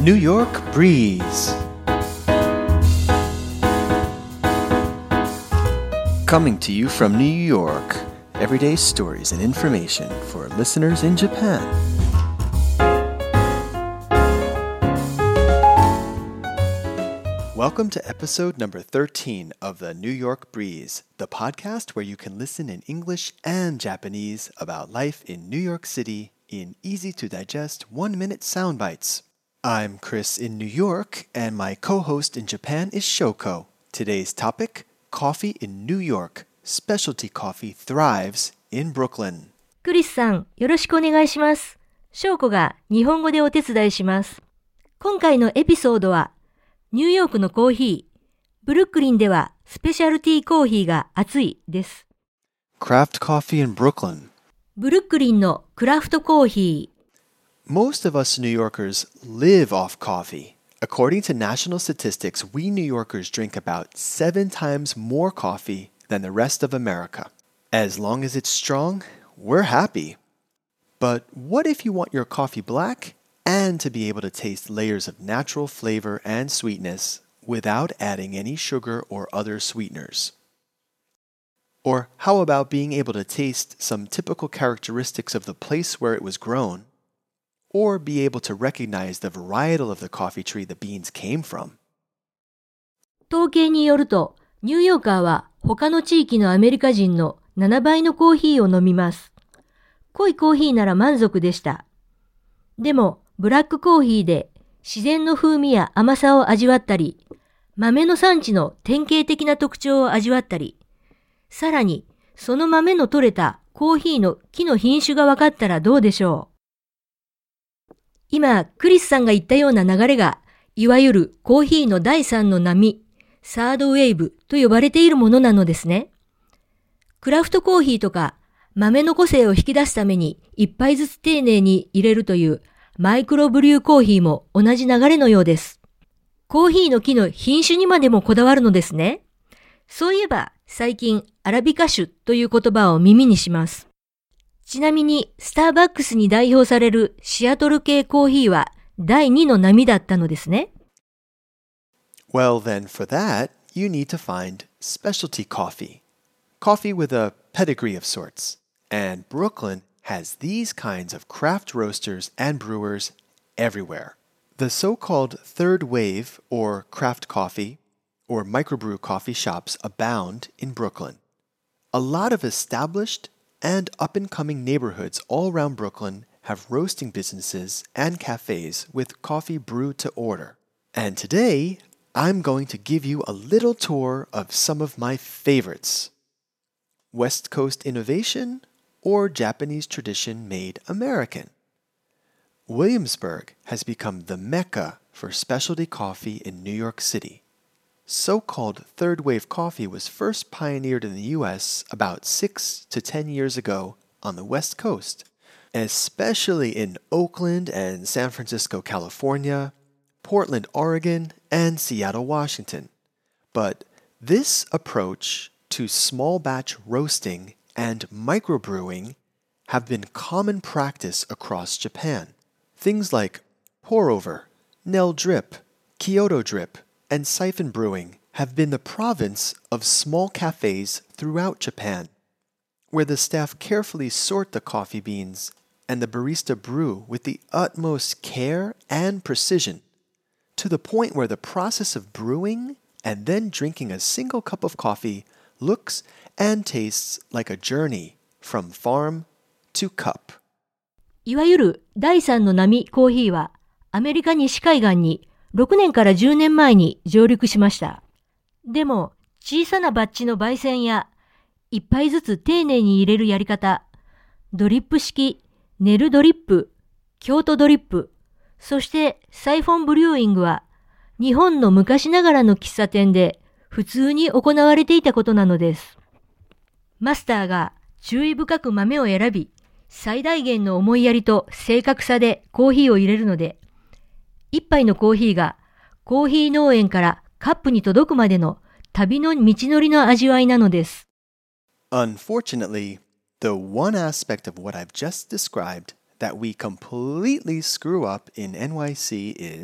New York Breeze. Coming to you from New York, everyday stories and information for listeners in Japan. Welcome to episode number 13 of the New York Breeze, the podcast where you can listen in English and Japanese about life in New York City in easy-to-digest 1-minute sound bites. I'm Chris in New York, and my co-host in Japan is Shoko. Today's topic, coffee in New York. Specialty coffee thrives in Brooklyn. クリスさん、よろしくお願いします。翔子が日本語でお手伝いします。今回のエピソードは、ニューヨークのコーヒー、ブルックリンではスペシャルティーコーヒーが熱いです。 Craft coffee in Brooklyn. ブルックリンのクラフトコーヒー。 Most of us New Yorkers live off coffee. According to national statistics, we New Yorkers drink about 7 times more coffee than the rest of America. As long as it's strong, we're happy. But what if you want your coffee black and to be able to taste layers of natural flavor and sweetness without adding any sugar or other sweeteners? Or how about being able to taste some typical characteristics of the place where it was grown, or be able to recognize the varietal of the coffee tree the beans came from? 統計によると、ニューヨーカーは他の地域のアメリカ人の7倍のコーヒーを飲みます。濃いコーヒーなら満足でした。でも、ブラックコーヒーで自然の風味や甘さを味わったり、豆の産地の典型的な特徴を味わったり、さらにその豆の取れたコーヒーの木の品種が分かったらどうでしょう。今、クリスさんが言ったような流れが、いわゆるコーヒーの第3の波、サードウェーブと呼ばれているものなのですね。クラフトコーヒーとか豆の個性を引き出すために一杯ずつ丁寧に入れるというマイクロブリューコーヒーも同じ流れのようです。コーヒーの木の品種にまでもこだわるのですね。そういえば最近アラビカ種という言葉を耳にします。ちなみにスターバックスに代表されるシアトル系コーヒーは第2の波だったのですね。 Well, then for that, you need to find specialty coffee. Coffee with a pedigree of sorts. And Brooklyn has these kinds of craft roasters and brewers everywhere. The so-called third wave or craft coffee or microbrew coffee shops abound in Brooklyn. A lot of established and up-and-coming neighborhoods all around Brooklyn have roasting businesses and cafes with coffee brewed to order. And today, I'm going to give you a little tour of some of my favorites. West Coast innovation or Japanese tradition made American? Williamsburg has become the mecca for specialty coffee in New York City. So-called third wave coffee was first pioneered in the US about 6 to 10 years ago on the West Coast, especially in Oakland and San Francisco, California, Portland, Oregon, and Seattle, Washington. But this approach to small batch roasting and microbrewing have been common practice across Japan. Things like pour-over, Nell drip, Kyoto drip, and siphon brewing have been the province of small cafes throughout Japan, where the staff carefully sort the coffee beans and the barista brew with the utmost care and precision, to the point where the process of brewing and then drinking a single cup of coffee looks and tastes like a journey from farm to cup. いわゆる第3の波コーヒーはアメリカ西海岸に6年から10年前に上陸しました。でも小さなバッジの焙煎や一杯ずつ丁寧に入れるやり方、ドリップ式、ネルドリップ、京都ドリップ、そしてサイフォンブリューイングは日本の昔ながらの喫茶店で普通に行われていたことなのです。マスターが注意深く豆を選び、最大限の思いやりと正確さでコーヒーを入れるので、一杯のコーヒーがコーヒー農園からカップに届くまでの旅の道のりの味わいなのです。 Unfortunately, the one aspect of what I've just described that we completely screw up in NYC is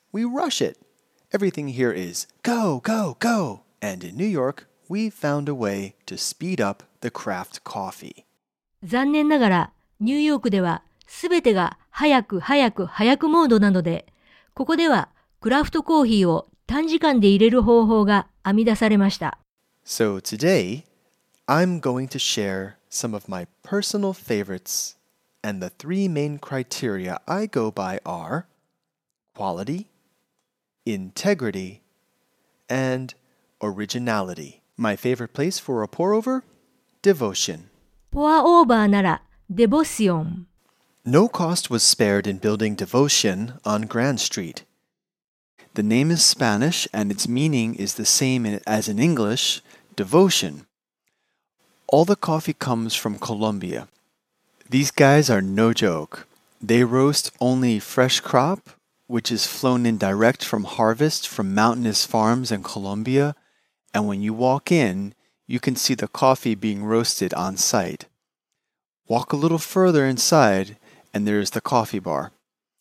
we rush it. Everything here is go, go, go. And in New York, we found a way to speed up the craft coffee. 残念ながら、ニューヨークではすべてが早く早く早くモードなので、ここではクラフトコーヒーを短時間で入れる方法が編み出されました。 So today, I'm going to share some of my personal favorites, and the three main criteria I go by are quality, integrity, and originality. My favorite place for a pour-over? Devotion. ポアオーバーならデボシオン。 No cost was spared in building Devotion on Grand Street. The name is Spanish and its meaning is the same as in English, devotion. All the coffee comes from Colombia. These guys are no joke. They roast only fresh crop, which is flown in direct from harvest from mountainous farms in Colombia, and when you walk in, you can see the coffee being roasted on site. Walk a little further inside, and there is the coffee bar.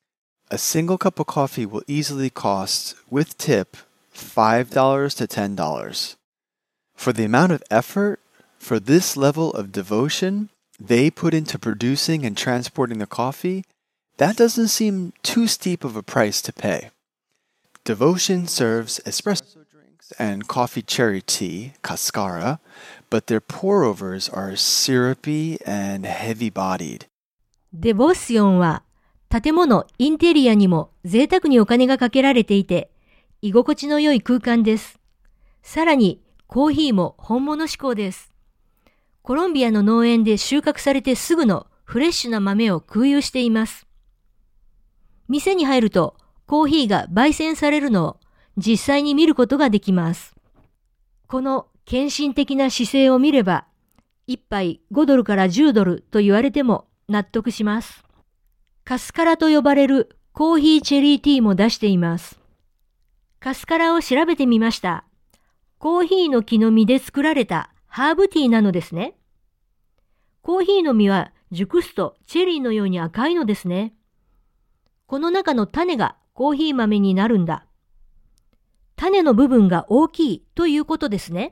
A single cup of coffee will easily cost, with tip, $5 to $10. For the amount of effort, for this level of devotion they put into producing and transporting the coffee, that doesn't seem too steep of a price to pay. Devotion serves espresso drinks and coffee cherry tea, cascara, but their pour-overs are syrupy and heavy-bodied. デボシオンは建物、インテリアにも贅沢にお金がかけられていて、居心地の良い空間です。さらに、コーヒーも本物志向です。コロンビアの農園で収穫されてすぐのフレッシュな豆を空輸しています。店に入るとコーヒーが焙煎されるのを実際に見ることができます。この献身的な姿勢を見れば、一杯5ドルから10ドルと言われても納得します。カスカラと呼ばれるコーヒーチェリーティーも出しています。カスカラを調べてみました。コーヒーの木の実で作られたハーブティーなのですね。コーヒーの実は熟すとチェリーのように赤いのですね。この中の種がコーヒー豆になるんだ。種の部分が大きいということですね。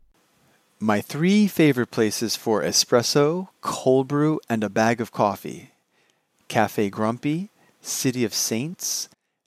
My three favorite places for espresso, cold brew, and a bag of coffee. Cafe Grumpy, City of Saints,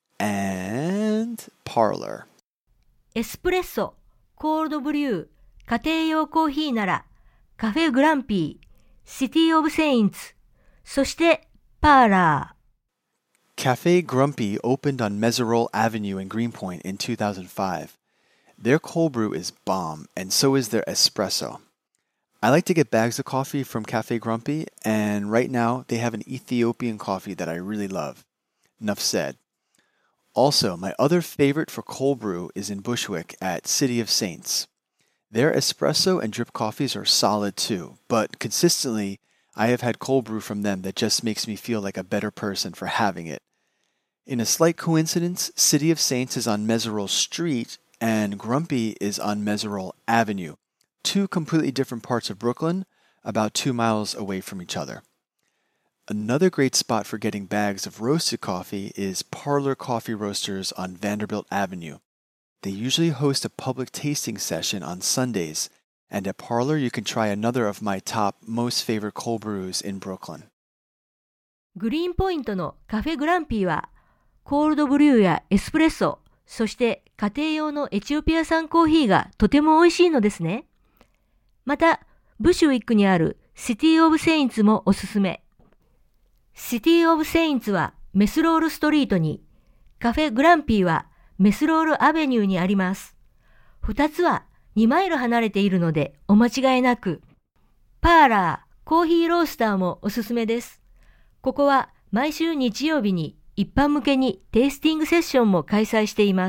and Parlor. エスプレッソ、コールドブリュー、家庭用コーヒーならカフェグランピー、シティオブセインツ、そしてパーラー。 Cafe Grumpy opened on Meserole Avenue in Greenpoint in 2005. Their cold brew is bomb, and so is their espresso. I like to get bags of coffee from Cafe Grumpy, and right now they have an Ethiopian coffee that I really love. Enough said. Also, my other favorite for cold brew is in Bushwick at City of Saints. Their espresso and drip coffees are solid too, but consistently I have had cold brew from them that just makes me feel like a better person for having it. In a slight coincidence, City of Saints is on Meserole Street and Grumpy is on Meserole Avenue, two completely different parts of Brooklyn, about 2 miles away from each other. Another great spot for getting bags of roasted coffee is Parlor Coffee Roasters on Vanderbilt Avenue. They usually host a public tasting session on Sundays, and at Parlor you can try another of my top most favorite cold brews in Brooklyn. グリーンポイントのカフェグランピーはコールドブリューやエスプレッソ、そして家庭用のエチオピア産コーヒーがとても美味しいのですね。また、ブシュウィックにあるシティオブセインツもおすすめ。シティオブセインツはメスロールストリートに、カフェグランピーはメスロールアベニューにあります。二つは2マイル離れているのでお間違いなく。パーラー、コーヒーロースターもおすすめです。ここは毎週日曜日に一般向けにテイスティングセッションも開催しています。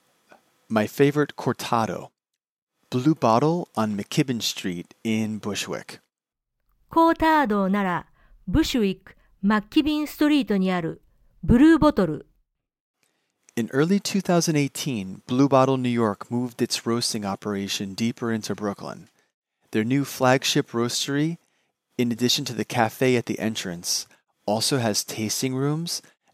My favorite cortado, Blue Bottle on McKibben Street in Bushwick. コータードならブシュウィック、マッキビンストリートにあるブルーボトル。 In early 2018, Blue Bottle New York moved its roasting operation deeper into Brooklyn. Their new flagship roastery, in addition to the cafe at the entrance, also has tasting rooms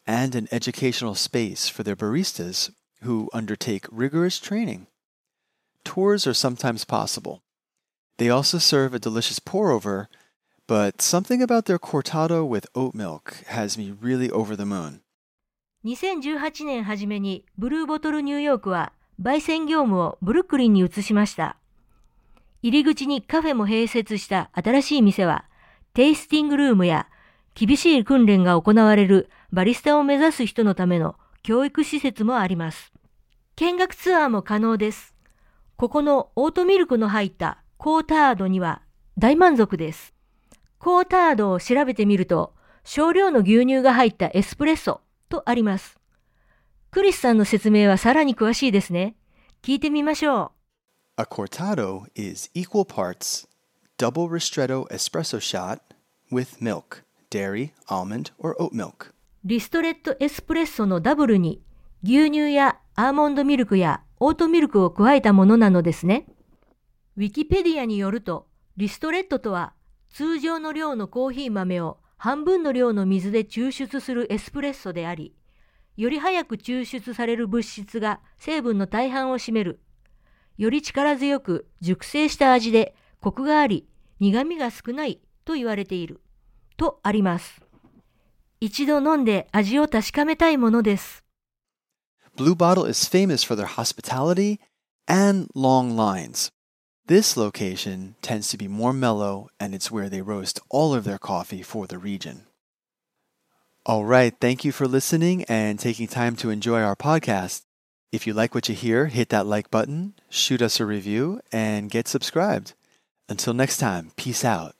and an educational space for their baristas who undertake rigorous training. Tours are sometimes possible. They also serve a delicious pour-over, but something about their cortado with oat milk has me really over the moon. 2018年初めにブルーボトルニューヨークは焙煎業務をブルックリンに移しました。入り口にカフェも併設した新しい店は、テイスティングルームや厳しい訓練が行われるバリスタを目指す人のための教育施設もあります。見学ツアーも可能です。ここのオートミルクの入ったコータードには大満足です。コータードを調べてみると、少量の牛乳が入ったエスプレッソとあります。クリスさんの説明はさらに詳しいですね。聞いてみましょう。A cortado is equal parts double ristretto espresso shot with milk, dairy, almond, or oat milk. リストレットエスプレッソのダブルに牛乳やアーモンドミルクやオートミルクを加えたものなのですね。ウィキペディアによると、リストレットとは通常の量のコーヒー豆を半分の量の水で抽出するエスプレッソであり、より早く抽出される物質が成分の大半を占める。より力強く熟成した味でコクがあり、苦味が少ないと言われている。とあります。一度飲んで味を確かめたいものです。 Blue Bottle is famous for their hospitality and long lines. This location tends to be more mellow, and it's where they roast all of their coffee for the region. All right, thank you for listening and taking time to enjoy our podcast. If you like what you hear, hit that like button, shoot us a review, and get subscribed. Until next time, peace out.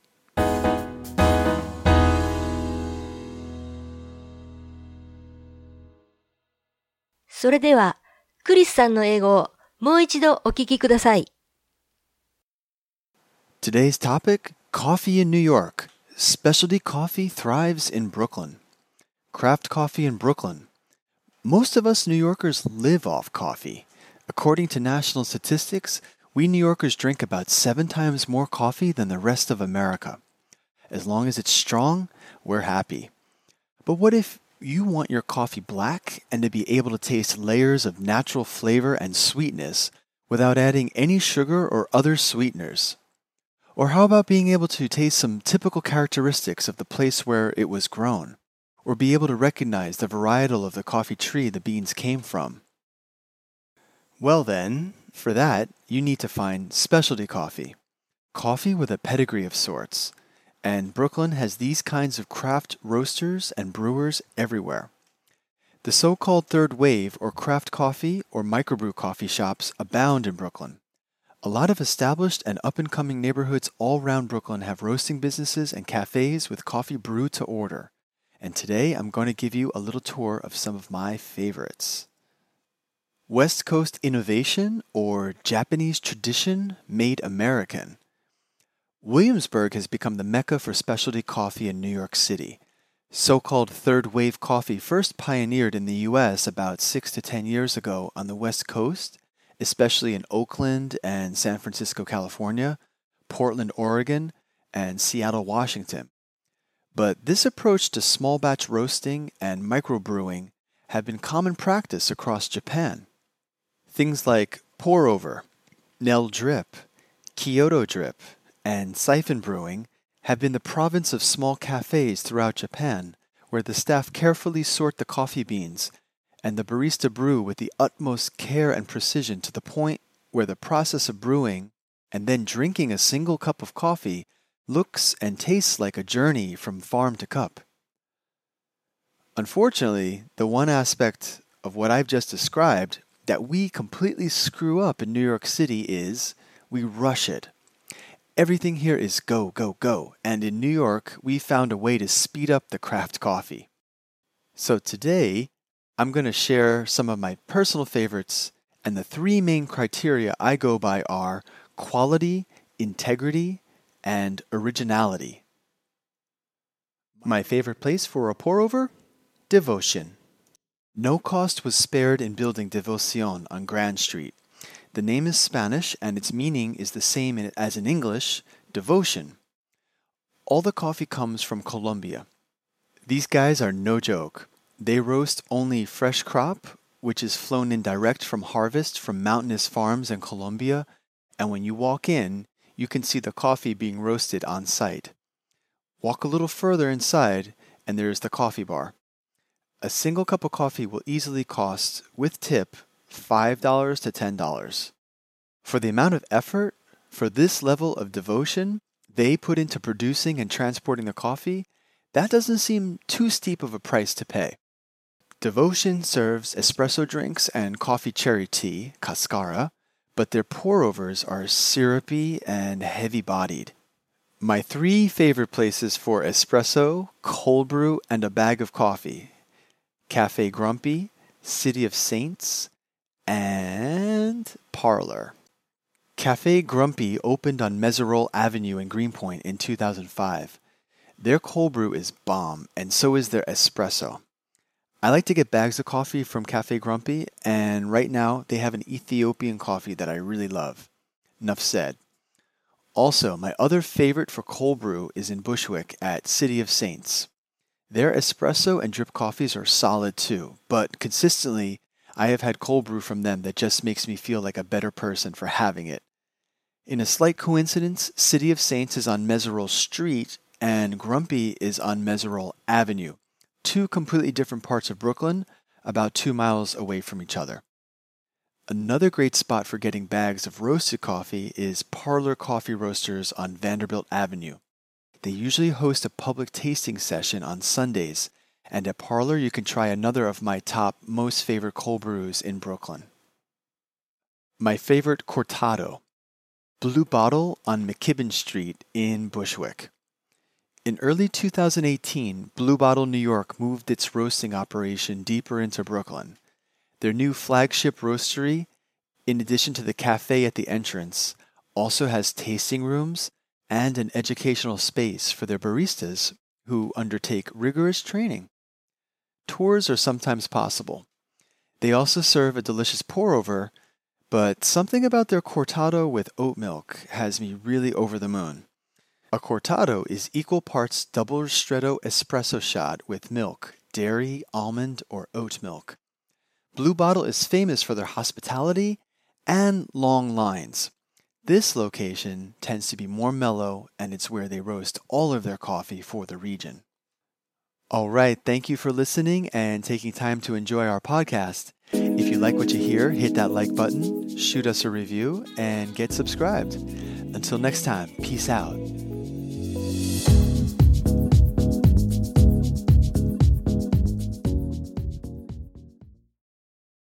それでは、クリスさんの英語をもう一度お聞きください。 Today's topic, coffee in New York. Specialty coffee thrives in Brooklyn. Craft coffee in Brooklyn. Most of us New Yorkers live off coffee. According to national statistics, we New Yorkers drink about 7 times more coffee than the rest of America. As long as it's strong, we're happy. But what if you want your coffee black and to be able to taste layers of natural flavor and sweetness without adding any sugar or other sweeteners? Or how about being able to taste some typical characteristics of the place where it was grown? Or be able to recognize the varietal of the coffee tree the beans came from? Well then, for that, you need to find specialty coffee. Coffee with a pedigree of sorts. And Brooklyn has these kinds of craft roasters and brewers everywhere. The so-called third wave or craft coffee or microbrew coffee shops abound in Brooklyn. A lot of established and up-and-coming neighborhoods all around Brooklyn have roasting businesses and cafes with coffee brewed to order. And today I'm going to give you a little tour of some of my favorites. West Coast innovation or Japanese tradition made American. Williamsburg has become the mecca for specialty coffee in New York City. So-called third wave coffee first pioneered in the U.S. about 6 to 10 years ago on the West Coast, especially in Oakland and San Francisco, California, Portland, Oregon, and Seattle, Washington. But this approach to small batch roasting and microbrewing have been common practice across Japan. Things like pour-over, Nell drip, Kyoto drip, and siphon brewing have been the province of small cafes throughout Japan, where the staff carefully sort the coffee beans and the barista brew with the utmost care and precision to the point where the process of brewing and then drinking a single cup of coffee looks and tastes like a journey from farm to cup. Unfortunately, the one aspect of what I've just described that we completely screw up in New York City is we rush it. Everything here is go, go, go, and in New York, we found a way to speed up the craft coffee. So today, I'm going to share some of my personal favorites, and the 3 main criteria I go by are quality, integrity, and originality. My favorite place for a pour-over? Devotion. No cost was spared in building Devoción on Grand Street. The name is Spanish, and its meaning is the same as in English, devotion. All the coffee comes from Colombia. These guys are no joke. They roast only fresh crop, which is flown in direct from harvest from mountainous farms in Colombia, and when you walk in, you can see the coffee being roasted on site. Walk a little further inside, and there is the coffee bar. A single cup of coffee will easily cost, with tip, $5 to $10. For the amount of effort, for this level of devotion they put into producing and transporting the coffee, that doesn't seem too steep of a price to pay. Devotion serves espresso drinks and coffee cherry tea, cascara, but their pour-overs are syrupy and heavy-bodied. My 3 favorite places for espresso, cold brew, and a bag of coffee: Cafe Grumpy, City of Saints, and Parlor. Cafe Grumpy opened on Meserole Avenue in Greenpoint in 2005. Their cold brew is bomb, and so is their espresso. I like to get bags of coffee from Cafe Grumpy, and right now they have an Ethiopian coffee that I really love. Enough said. Also, my other favorite for cold brew is in Bushwick at City of Saints. Their espresso and drip coffees are solid too, but consistently I have had cold brew from them that just makes me feel like a better person for having it. In a slight coincidence, City of Saints is on Meserole Street and Grumpy is on Meserole Avenue, 2 completely different parts of Brooklyn, about 2 miles away from each other. Another great spot for getting bags of roasted coffee is Parlor Coffee Roasters on Vanderbilt Avenue. They usually host a public tasting session on Sundays, and at Parlor you can try another of my top most favorite cold brews in Brooklyn. My favorite Cortado, Blue Bottle on McKibben Street in Bushwick. In early 2018, Blue Bottle New York moved its roasting operation deeper into Brooklyn. Their new flagship roastery, in addition to the cafe at the entrance, also has tasting rooms and an educational space for their baristas who undertake rigorous training. Tours are sometimes possible. They also serve a delicious pour-over, but something about their cortado with oat milk has me really over the moon. A cortado is equal parts double ristretto espresso shot with milk, dairy, almond, or oat milk. Blue Bottle is famous for their hospitality and long lines. This location tends to be more mellow, and it's where they roast all of their coffee for the region. All right, thank you for listening and taking time to enjoy our podcast. If you like what you hear, hit that like button, shoot us a review, and get subscribed. Until next time, peace out.